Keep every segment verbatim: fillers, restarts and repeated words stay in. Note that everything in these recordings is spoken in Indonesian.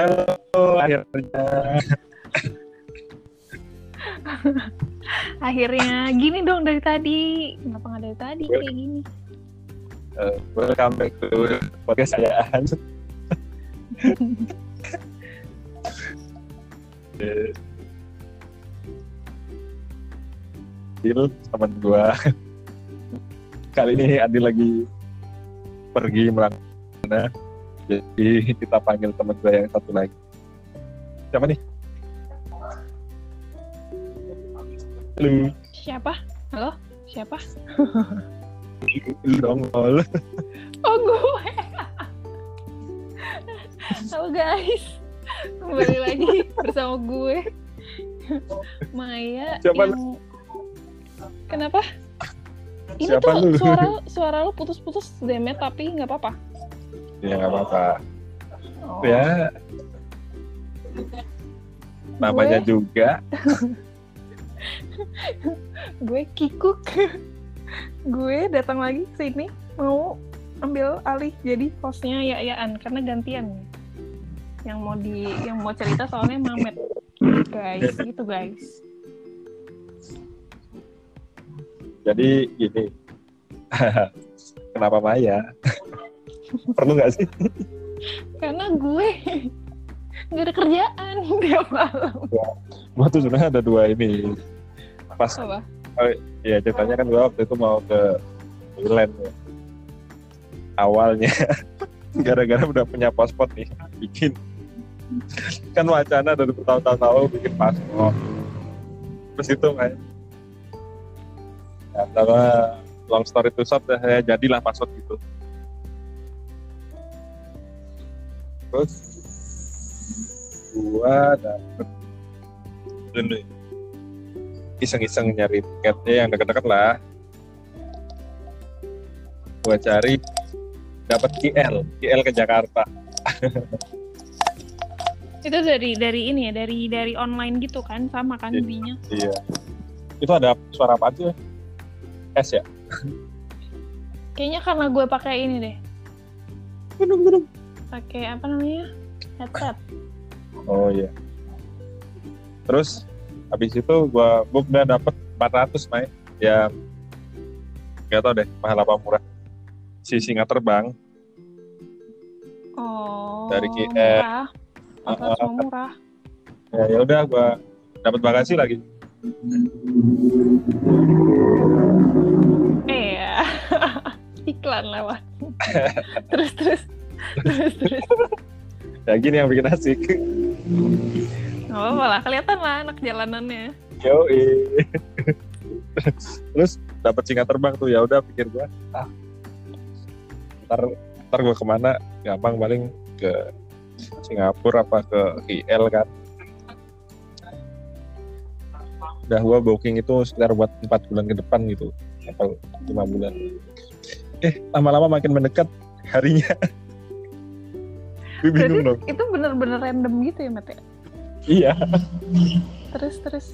Halo, akhirnya. Akhirnya gini dong dari tadi. Kenapa nggak dari tadi Well, kayak gini? uh, welcome back to podcast saya Hans. Adil, teman gua. Kali ini Adil lagi pergi melanggar, jadi kita panggil teman gua yang satu lagi. Siapa nih? Lu, Siapa? Halo? Siapa? lu dong, lu. Oh gue. Halo guys. Kembali lagi bersama gue. Maya Siapa yang... Kenapa? Ini Siapa tuh lu? suara suara lu putus-putus Demet tapi nggak apa-apa. Ya nggak apa-apa. Oh. Ya, namanya Gue, juga. gue kikuk. Gue datang lagi ke sini mau ambil alih jadi hostnya Ya-Yaan karena gantian. Yang mau di yang mau cerita soalnya Mamet. Guys, gitu guys. Jadi gini, kenapa Maya? Perlu nggak sih? Karena gue nggak ada kerjaan tiap malam. Gua tuh sebenarnya ada dua ini. Pas, Apa? oh, ya ceritanya kan gua waktu itu mau ke Thailand ya. Awalnya, gara-gara udah punya paspor nih, bikin. Kan wacana dari bertahun-tahun lalu bikin paspor. Terus itu kayak, ya, sama long story to short, saya jadilah paspor gitu. Terus gua dapet dulu iseng-iseng nyari tiketnya yang deket-deket lah. Gua cari dapat K L, K L ke Jakarta. Itu dari dari ini ya, dari dari online gitu kan, sama kan Iya. belinya. Iya. Itu ada suara apa aja? S ya? Kayaknya karena gue pakai ini deh, Gunung-gunung. pakai apa namanya, headset. Oh iya. Terus habis itu gua book udah dapet empat ratus main. Ya nggak tau deh mahal apa murah. Si Singa Terbang Oh. dari K L. Murah. Apa Uh, semua murah? ya ya udah gua dapat bagasi lagi. Eh ya. Iklan lewat. terus terus terus terus. Ya gini yang bikin asik. Nggak apa-apa lah, kelihatan lah anak jalanannya. Yoi. Terus dapat Singa Terbang tuh, ya udah pikir gua, ah, ntar ntar gua kemana? Gampang paling ke Singapura apa ke K L kan. Udah gua booking itu sekitar buat empat bulan ke depan gitu, atau lima bulan. Eh lama-lama makin mendekat harinya. Gue bingung dong. Itu bener-bener random gitu ya, Mete? Iya. Terus terus.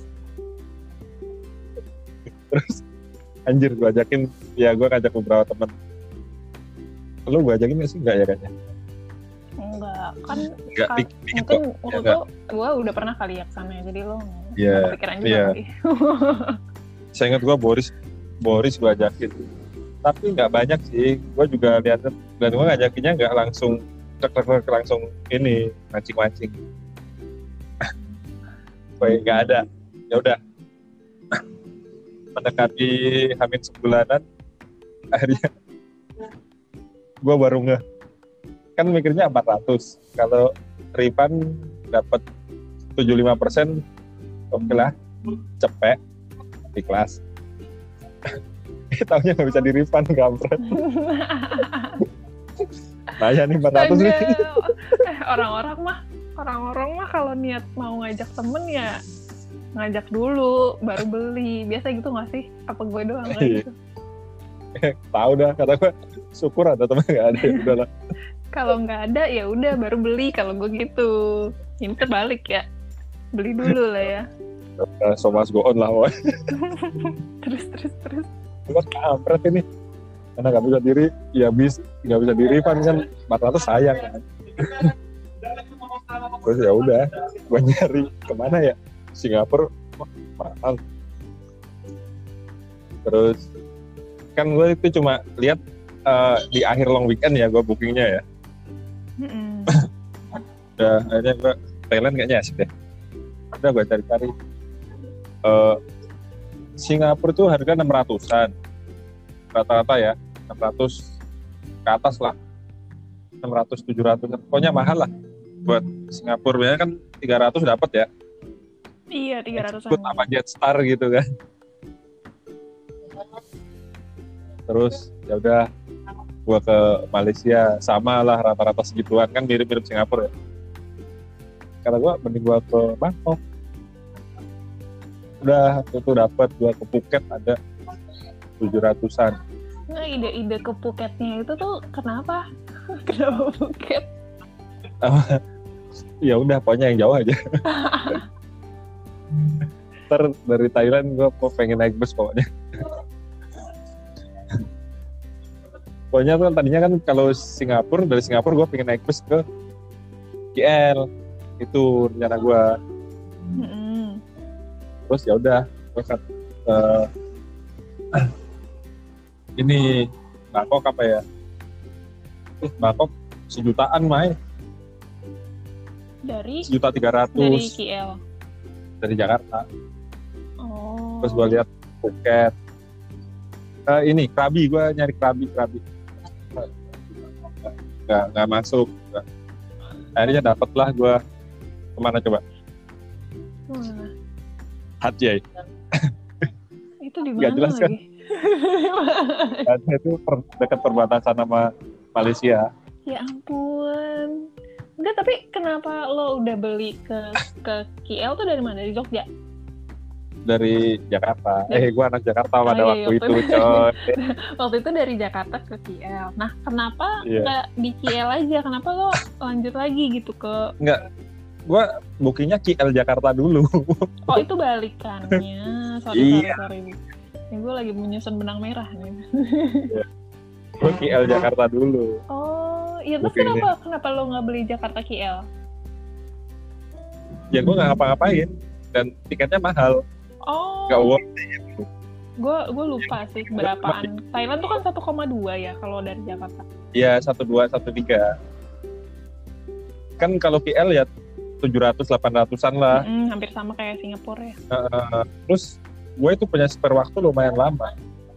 Terus anjir gue ajakin, ya gue ngajak beberapa teman. Lu gue ajakin nggak sih? Nggak ya kayaknya. Enggak, kan Nggak, ka- dikit dikit mungkin kok. waktu Ya, itu gue udah pernah kali ya kesana, jadi lo Iya, nggak kepikiran juga iya. kali. Saya ingat gue Boris, Boris gue ajakin. Tapi nggak banyak sih. Gue juga lihat dan gue ngajakinnya nggak langsung tek-tek langsung ini mancing-mancing. Kayak nggak ada. Ya udah. Mendekati hamin sebulanan, akhirnya gue baru nge. Kan mikirnya empat ratus. Kalau refund dapat tujuh puluh lima persen, oke lah, cepet, ikhlas. Taunya nggak bisa di refund, kampret. Nah ya nih empat ratus nih. Eh, orang-orang mah, orang-orang mah kalau niat mau ngajak temen ya ngajak dulu, baru beli. Biasa gitu nggak sih? Apa gue doang lah gitu? Tahu dah, kata gue syukur ada teman nggak ada, ya udahlah. Kalau nggak ada ya udah baru beli. Kalau gue gitu, ini terbalik ya, beli dulu lah ya. Uh, so must go on lah, woy. Terus terus terus. Gue kampret ini. Karena nggak bisa diri, ya bis nggak bisa di refund kan empat ratus sayang kan. Terus ya udah, gue nyari kemana ya, Singapura, wah, mahal. Terus kan gue itu cuma lihat uh, di akhir long weekend ya gue bookingnya ya. Mm-mm. Udah akhirnya gue Thailand kayaknya asik deh. Udah gue cari-cari. Uh, Singapura tuh harga enam ratusan rata-rata ya, enam ratus ke atas lah, enam ratus tujuh ratus, pokoknya mahal lah buat Singapura. Biasanya kan tiga ratus dapat ya. Iya, tiga ratusan. Ikut apa Jetstar gitu kan. Terus ya udah gua ke Malaysia, sama lah rata-rata segituan kan, mirip-mirip Singapura ya. Karena gua mending gua ke Bangkok. Udah itu dapat gua ke Phuket ada tujuh ratusan. Nah, ide-ide ke Phuketnya itu tuh kenapa? Kenapa Phuket? Ya udah pokoknya yang jauh aja. Ntar dari Thailand gue mau pengen naik bus pokoknya. Pokoknya tuh tadinya kan kalau Singapura, dari Singapura gue pengen naik bus ke K L, itu rencana gue. Mm-hmm. Terus ya udah gue kan uh, ini Bangkok apa ya? Eh, Bangkok sejutaan Mai. Dari Sejuta tiga ratus. dari K L. Dari Jakarta. Oh. Terus gue lihat Phuket. Uh, ini Krabi, gue nyari Krabi Krabi. Nggak nggak masuk. Nggak. Akhirnya dapet lah gue. Kemana coba? Mana? Hatjai. Itu di Nggak mana jelas kan? lagi? Hatjai itu per, dekat perbatasan sama Malaysia. Ya ampun. Enggak, tapi kenapa lo udah beli ke ke K L tuh dari mana? Dari Jogja? Dari Jakarta. Dari... Eh, gue anak Jakarta pada oh, iya, waktu iya, itu, coy. Waktu itu dari Jakarta ke K L. Nah, kenapa Iya. nggak di K L aja? Kenapa lo lanjut lagi gitu ke... Enggak, gue bookingnya K L Jakarta dulu. Oh, itu balikannya. Sorry, Iya. sorry, sorry. Ini gue lagi menyusun benang merah nih. Gue K L Jakarta dulu. Oh, iya, terus Bookingnya. kenapa kenapa lo nggak beli Jakarta K L? Ya gue nggak ngapa-ngapain dan tiketnya mahal, Oh, nggak worth it. gue gue lupa sih berapaan. Thailand tuh kan satu koma dua ya kalau dari Jakarta. Ya satu dua satu tiga. Kan kalau K L ya tujuh ratus delapan ratusan lah. Mm, hampir sama kayak Singapura ya. Uh, terus gue itu punya spare waktu lumayan lama,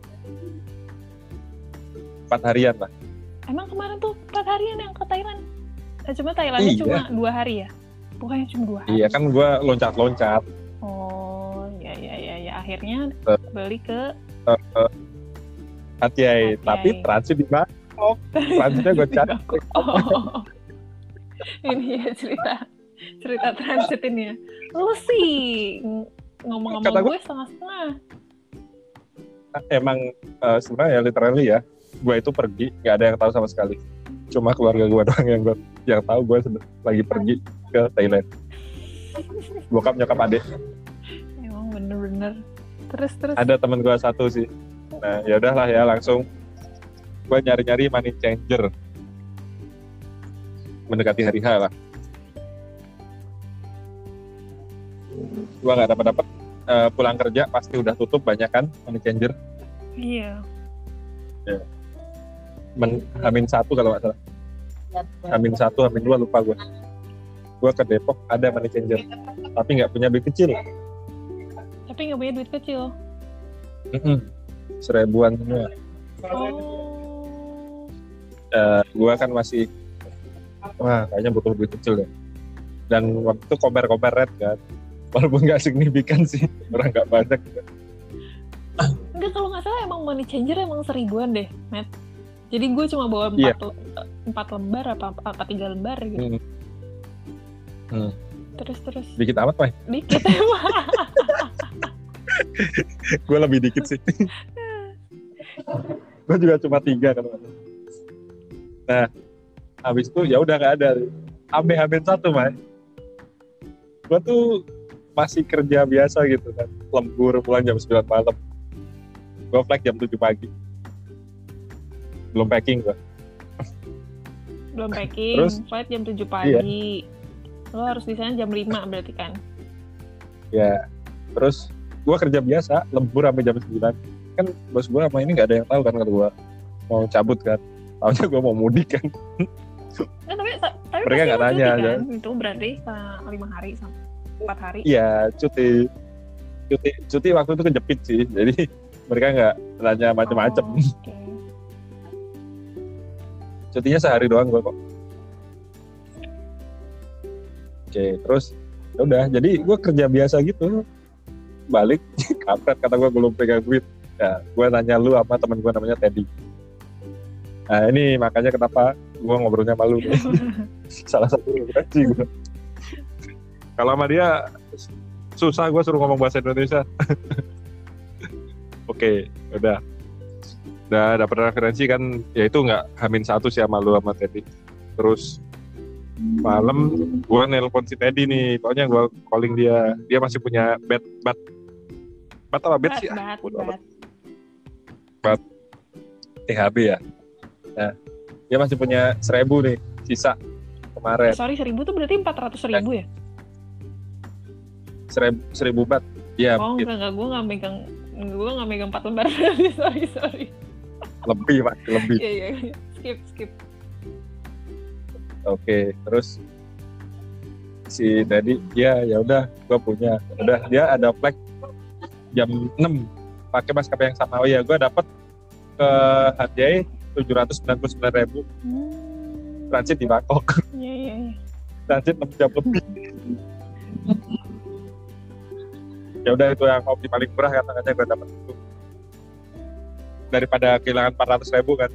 empat harian lah. Emang kemarin tuh empat harian yang ke Thailand? Eh, cuma Thailandnya Iya. cuma dua hari ya? Bukannya cuma dua hari? Iya kan gue loncat-loncat. Oh, ya ya ya ya. Akhirnya beli ke Uh, uh, Hatjai, Hatjai. tapi transit di Bangkok. Transitnya gue cari. Oh. Ini ya cerita cerita transit ini ya. Lu sih ng- ngomong sama Kata gue gue- setengah-setengah. Emang uh, sebenarnya ya literally ya, gue itu pergi nggak ada yang tahu sama sekali. Cuma keluarga gue doang yang gue yang tahu gue sed- lagi pergi ke Thailand. Bokap nyokap adik. Emang bener-bener. Terus terus. Ada temen gue satu sih. Nah ya udahlah ya, langsung gue nyari-nyari money changer mendekati hari H lah. Gue nggak dapat dapat uh, pulang kerja pasti udah tutup banyak kan money changer. Iya. Men, Amin satu kalau nggak salah. Amin satu, Amin dua lupa gue. Gue ke Depok ada money changer, tapi nggak punya duit kecil. Tapi nggak punya duit kecil. Mm-mm. Seribuan semua. Oh. Uh, gue kan masih, wah kayaknya butuh duit kecil ya. Dan waktu itu komer-komer red kan, walaupun nggak signifikan sih, orang nggak banyak. Enggak, kalau nggak salah emang money changer emang seribuan deh, Matt. Jadi gue cuma bawa Iya. empat, empat lembar apa, apa tiga lembar gitu. Hmm. Hmm. Terus terus. Dikit amat, Mai. Dikit emang. Gue lebih dikit sih. Gue juga cuma tiga kan. Nah, habis itu ya udah nggak ada. Ambil-ambil satu, Mai. Gue tuh masih kerja biasa gitu kan, lembur pulang jam sembilan malam. Gue flight jam tujuh pagi. Belum packing gue. Belum packing. Terus? Flight jam tujuh pagi. Lo harus di sana jam lima berarti kan? Ya, terus gue kerja biasa, lembur sampai jam sembilan. Kan bos gue sama ini gak ada yang tahu kan kalau gue mau cabut kan. Taunya gue mau mudik kan. Nah, tapi, tapi Mereka nggak nanya kan? aja. Itu berarti uh, lima hari sampai empat hari. Iya, cuti. Cuti cuti waktu itu kejepit sih. Jadi mereka nggak nanya macem-macem. Oh, okay. Cutinya sehari doang gue kok. Oke, terus ya udah. Jadi gue kerja biasa gitu. Balik, kampret kata gue belum pegang duit. Ya, gue nanya lu sama temen gue namanya Teddy. Nah ini makanya kenapa gue ngobrolnya malu nih. Salah satu referensi gue. Kalau sama dia susah gue suruh ngomong bahasa Indonesia. Oke, udah. Udah dapat referensi kan, ya itu nggak hamin satu sih sama lu sama Teddy. Terus malam gue nelpon si Teddy nih, pokoknya gue calling dia. Dia masih punya bat bat bat apa bat sih? Bat, bat. Bat T H B ya. Nah, dia masih punya seribu nih sisa kemarin. Sorry, seribu tuh berarti empat ratus ribu ya? Seribu, seribu bat. Ya, oh gitu. enggak, enggak, gue nggak megang, gue nggak megang empat lembar. sorry, sorry. Lebih pak, lebih. Iya, iya, iya. Skip, skip. Oke, terus si Teddy, ya ya udah, gue punya. Udah, dia ada flight jam enam pakai maskapai yang sama. Oh ya, gue dapat ke Hanjai tujuh ratus sembilan puluh sembilan ribu. Hmm. Transit di Bangkok. Iya, iya, iya. Transit enam jam lebih. Ya udah itu yang opsi paling murah katanya gue dapat itu. Daripada kehilangan empat ratus ribu kan.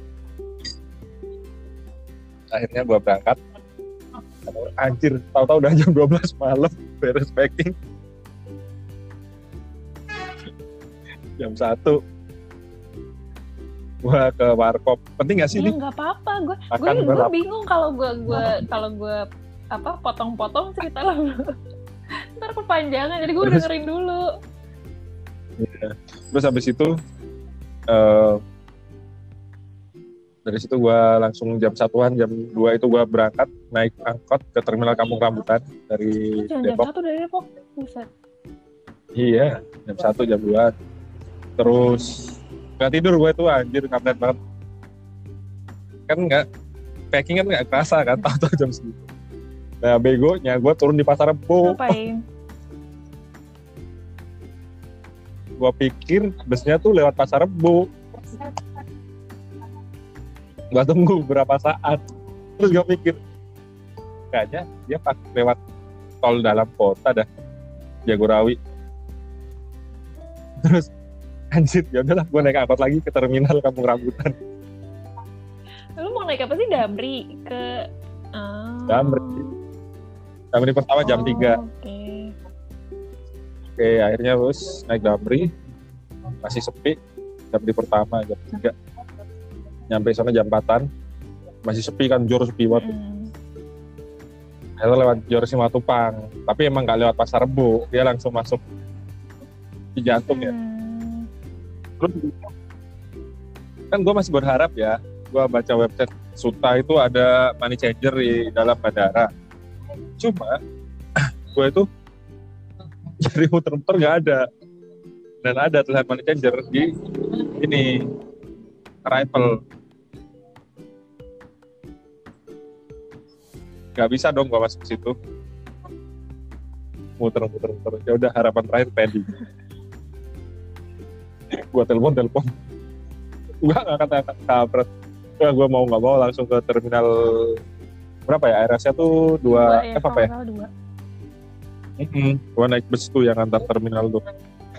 Akhirnya gue berangkat. Anjir, tahu-tahu udah jam dua belas malam beres packing. Jam satu gue ke warkop. Penting gak sih Ya ini? nggak apa-apa, gue Makan gue gue berapa? bingung kalau gue gue kalau gue apa potong-potong cerita lo. Ntar kepanjangan, jadi gue Terus? dengerin dulu. Ya. Terus habis itu uh, dari situ gue langsung jam satuan, jam dua itu gue berangkat naik angkot ke terminal Kampung Rambutan dari Jangan jam Depok. satu dari Depok, buset. Iya, jam satu, jam dua. Terus nggak tidur gue tuh, anjir, kampret banget. Kan nggak, packing kan nggak kerasa kan, tahu-tahu jam segitu. Nah begonya gue turun di Pasar Rebo. Ngapain? Gue pikir busnya tuh lewat Pasar Rebo. Gue tunggu berapa saat. Terus gue pikir, kayaknya dia pas lewat tol dalam kota dah, Jagorawi. Terus anjir, ya udahlah gue naik angkot lagi ke terminal Kampung Rambutan. Lu mau naik apa sih, Damri? Ke oh. Damri. Damri pertama jam oh, tiga. Oke. Oke, akhirnya terus naik Damri. Masih sepi. Damri pertama jam tiga. Nyampe sana jam empatan. Masih sepi kan, jor sepi banget. Mm. Akhirnya lewat Jor Simatupang. Tapi emang gak lewat Pasar Rebo. Dia langsung masuk di jantung ya. Mm. Terus kan gue masih berharap ya, gue baca website Suta itu ada money changer di dalam bandara. Cuma gue itu cari muter-muter nggak ada, dan ada tulisan money changer di ini arrival. Gak bisa dong gue masuk ke situ. Muter-muter-muter. Ya udah, harapan terakhir Teddy. Gue telepon telepon gue nggak kata kampret. Gue gue mau nggak mau langsung ke terminal berapa ya, R S-nya tuh dua, ya, eh apa ya? dua. Mm-hmm. Gue naik bus tuh yang antar terminal tuh.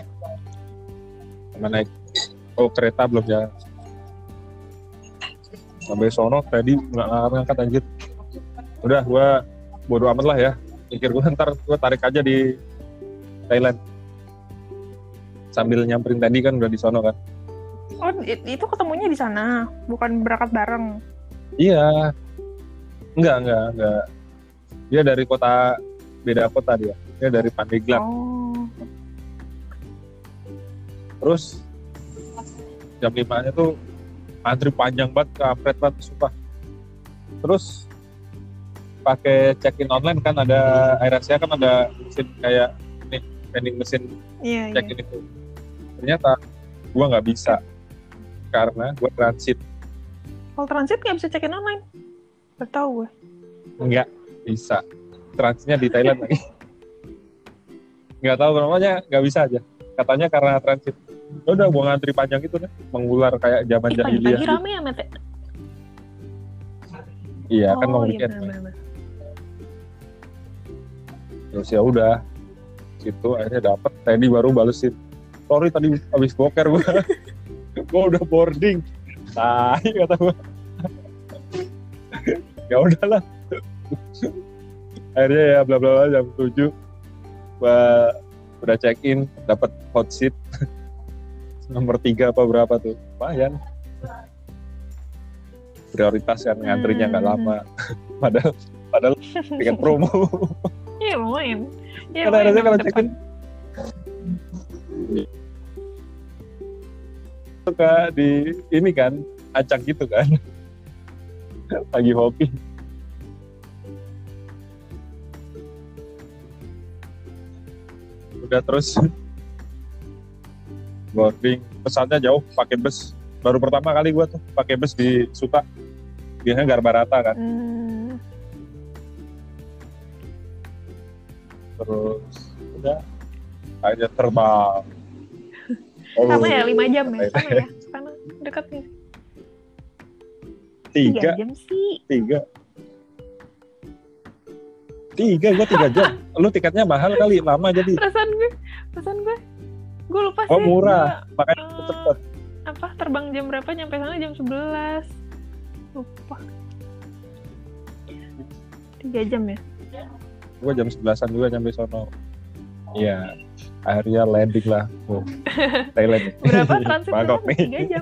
Sama naik oh kereta belum ya. Sampai sono tadi nggak ngangkat anjir. Udah gue bodo amat lah ya. Pikir gue ntar gue tarik aja di Thailand. Sambil nyamperin tadi kan udah di sono kan. Oh, itu ketemunya di sana, bukan berangkat bareng. Iya. Enggak, enggak, enggak. Dia dari kota, beda kota dia. Dia dari Pandeglang. Oh. Terus jam lima-nya tuh antri panjang banget, kampret banget, sumpah. Terus pakai check-in online kan ada AirAsia kan ada mesin kayak nih vending mesin Iya, check-in iya. itu. Ternyata gue nggak bisa karena gue transit. Kalau transit nggak bisa check-in online. Baru tahu gue. Nggak bisa. Transitnya di Thailand lagi. Nggak tahu namanya, nggak bisa aja. Katanya karena transit. Ya udah gue ngantri panjang itu deh, mengular kayak zaman Eh, jahiliyah. pagi-pagi Gitu. rame ya, Mete? Iya kan mau Oh, iya weekend. benar-benar. Terus ya udah, situ akhirnya dapet. Tadi baru balesin. Sorry tadi habis boker gue. Gue udah boarding. Tai kata gue. Ya udahlah. Akhirnya ya bla bla bla jam tujuh gue udah check in, dapat hot seat nomor tiga apa berapa tuh, lumayan. Prioritas kan ngantrinya nggak Hmm. lama. padahal padahal tiket promo. Iya, lumayan. Iya, Karena harusnya kalau depan. check in suka di ini kan acak gitu kan. Lagi hobi. Udah terus boarding, pesawatnya jauh pakai bus. Baru pertama kali gua tuh pakai bus di Suta. Biasanya Garbarata kan. Hmm. Terus udah akhirnya terbang. Sama ya, lima jam ya? Sana ya? Sana dekat nih. Tiga, jam sih. tiga. Tiga, gua tiga jam. Lu tiketnya mahal kali, lama jadi. Perasaan gue, perasaan gue. Gue lupa sih. Oh murah, Gua, makanya eh, cepet. apa, terbang jam berapa, nyampe sana jam sebelas. Lupa. Tiga jam ya? Gua jam sebelasan juga nyampe sono. Iya, akhirnya landing lah. Oh, Thailand. Berapa transit Bangkok berapa? nih. Tiga jam.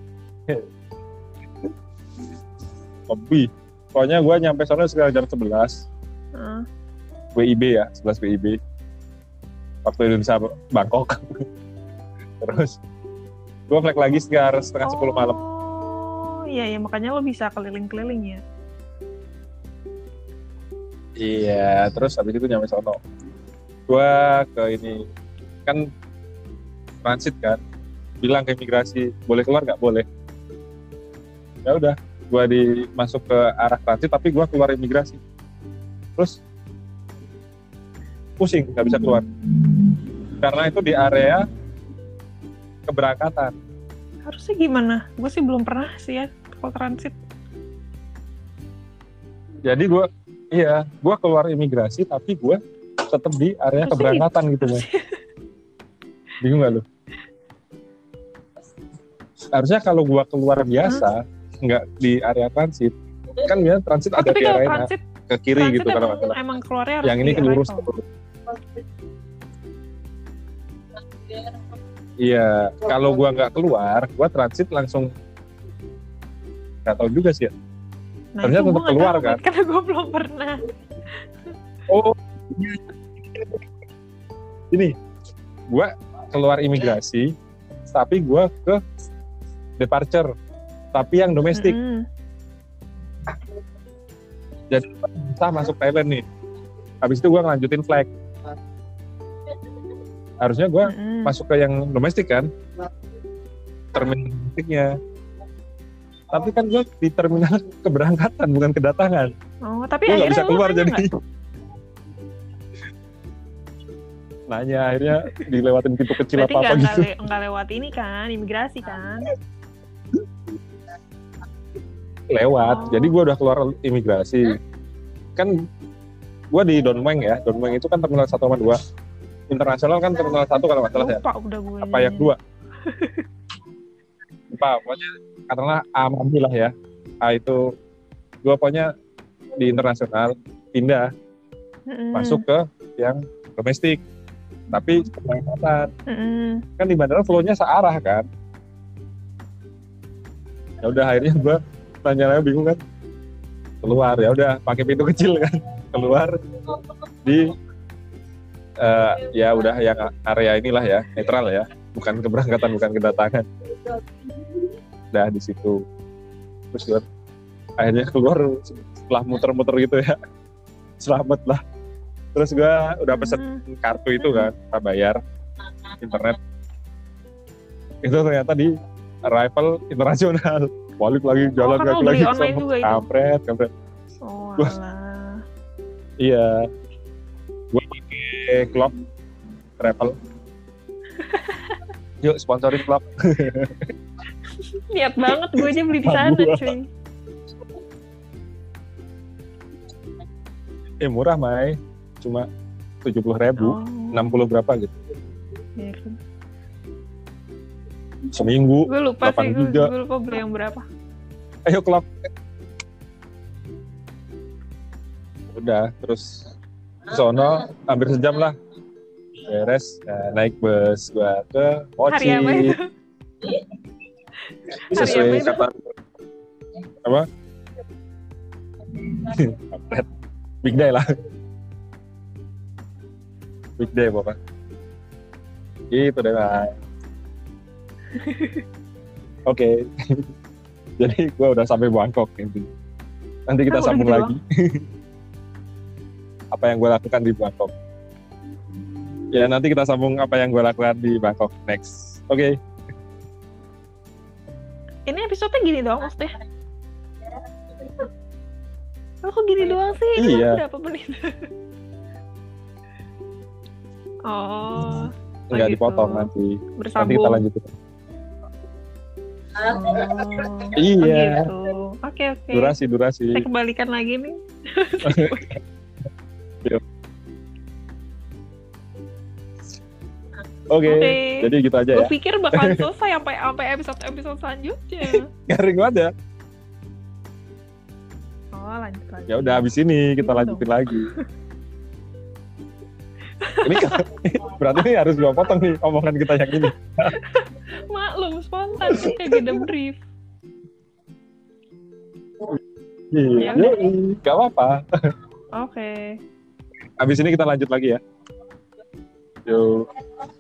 Lebih. Pokoknya gua nyampe sono sekitar jam sebelas. Heeh. W I B ya, sebelas W I B. Waktu Indonesia Bangkok. Terus gue flight lagi sekitar setengah sepuluh malam. Oh, iya ya, makanya lo bisa keliling-keliling ya. Iya, terus habis itu nyampe sono. Gue ke ini, kan transit kan, bilang ke imigrasi, boleh keluar nggak? Boleh. Ya udah, gue di masuk ke arah transit, tapi gue keluar imigrasi. Terus pusing, nggak bisa keluar. Karena itu di area keberangkatan. Harusnya gimana? Gue sih belum pernah sih ya kalau transit. Jadi gue, iya, gue keluar imigrasi, tapi gue tetap di area Harusnya keberangkatan gitu, Mas. Bingung gak lu? Harusnya kalau gue keluar biasa, nggak di area transit, kan biasanya transit Oh, ada tapi di kalau area transit, ke kiri transit gitu kalau emang, nggak salah. emang keluarnya harus Yang ini di ke lurus. arrival. Iya, kalau gue nggak keluar, gue transit langsung. Nggak tahu juga sih ya. Nah, Harusnya itu tetap gue nggak keluar, tahu, kan? Matt, karena gue belum pernah. Oh, ini gue keluar imigrasi, tapi gue ke departure, tapi yang domestik. Mm-mm. Jadi kita masuk Thailand nih. Habis itu gue ngelanjutin flight. Harusnya gue Mm-mm. masuk ke yang domestik kan, terminal domestiknya. Tapi kan gue di terminal keberangkatan bukan kedatangan. Oh, tapi Gue nggak akhirnya bisa lo keluar nanya jadi. nggak? Nanya akhirnya dilewatin pintu kecil Berarti apa apa nggak gitu. nggak le- nggak lewat ini kan, imigrasi kan? Lewat. Oh. Jadi gue udah keluar imigrasi. Kan gue di Don Mueang ya. Don Mueang itu kan terminal satu sama dua. Internasional kan terminal satu kalau nggak salah ya. Lupa udah gue. Apa yang dua? Lupa. Pokoknya karena A sama B lah ya. A itu gue pokoknya di internasional pindah Mm-mm. masuk ke yang domestik. Tapi keberangkatan. Mm-mm. Kan di bandara flow-nya searah kan. Ya udah akhirnya gue nanya-nanya bingung kan. Keluar ya udah pakai pintu kecil kan. Keluar di uh, ya udah yang area inilah ya, netral ya. Bukan keberangkatan, bukan kedatangan. Udah di situ. Terus gue akhirnya keluar setelah muter-muter gitu ya. selamat lah. Terus gue udah pesen Hmm. kartu itu kan, kita bayar internet. Itu ternyata di Arrival internasional. Balik lagi jalan Oh, kan kaki lo beli lagi ke online sono. juga itu? Kampret, kampret. Oh, Gua- alah. Iya. Gue pakai Klopp Travel. Yuk sponsorin Klopp. Niat banget gue aja beli di sana, Gua. cuy. Eh murah, Mai. Cuma tujuh puluh ribu, Oh, enam puluh berapa gitu. iya kan. Seminggu. Gue lupa delapan sih, gue, giga. gue lupa beli yang berapa. Ayo Klopp. Udah, terus ke sono hampir sejam lah. Beres, nah, naik bus gua ke Hari apa Mochi. itu? Hari Sesuai apa itu? kata apa? Kampret. Big day lah. Big day pokoknya. Gitu deh, Bang. Oke. Jadi gua udah sampai Bangkok intinya. Nanti kita Ah, udah sambung gitu lagi. Apa yang gue lakukan di Bangkok. Ya nanti kita sambung apa yang gue lakukan di Bangkok next. Oke. Ini episode-nya gini doang maksudnya? Oh, kok gini doang sih? Ini Iya. berapa menit? Oh, Nggak gitu. dipotong nanti. Nanti bersambung. kita lanjutin. Oh, Iya. gitu. Oke, oke. Durasi durasi. Saya kembalikan lagi nih. Oke. Oke. Jadi gitu aja Gue ya. pikir bakal selesai sampai sampai episode-episode selanjutnya. Garing banget ya. Oh, lanjut lagi. Ya udah habis ini kita Gitu lanjutin lagi. Ini kan, berarti ini harus gua potong nih omongan kita yang ini. Maklum, spontan sih kayak beda brief. Iya. Ya udah. Yoi, gak apa-apa. Oke. Habis ini kita lanjut lagi ya. Yuk.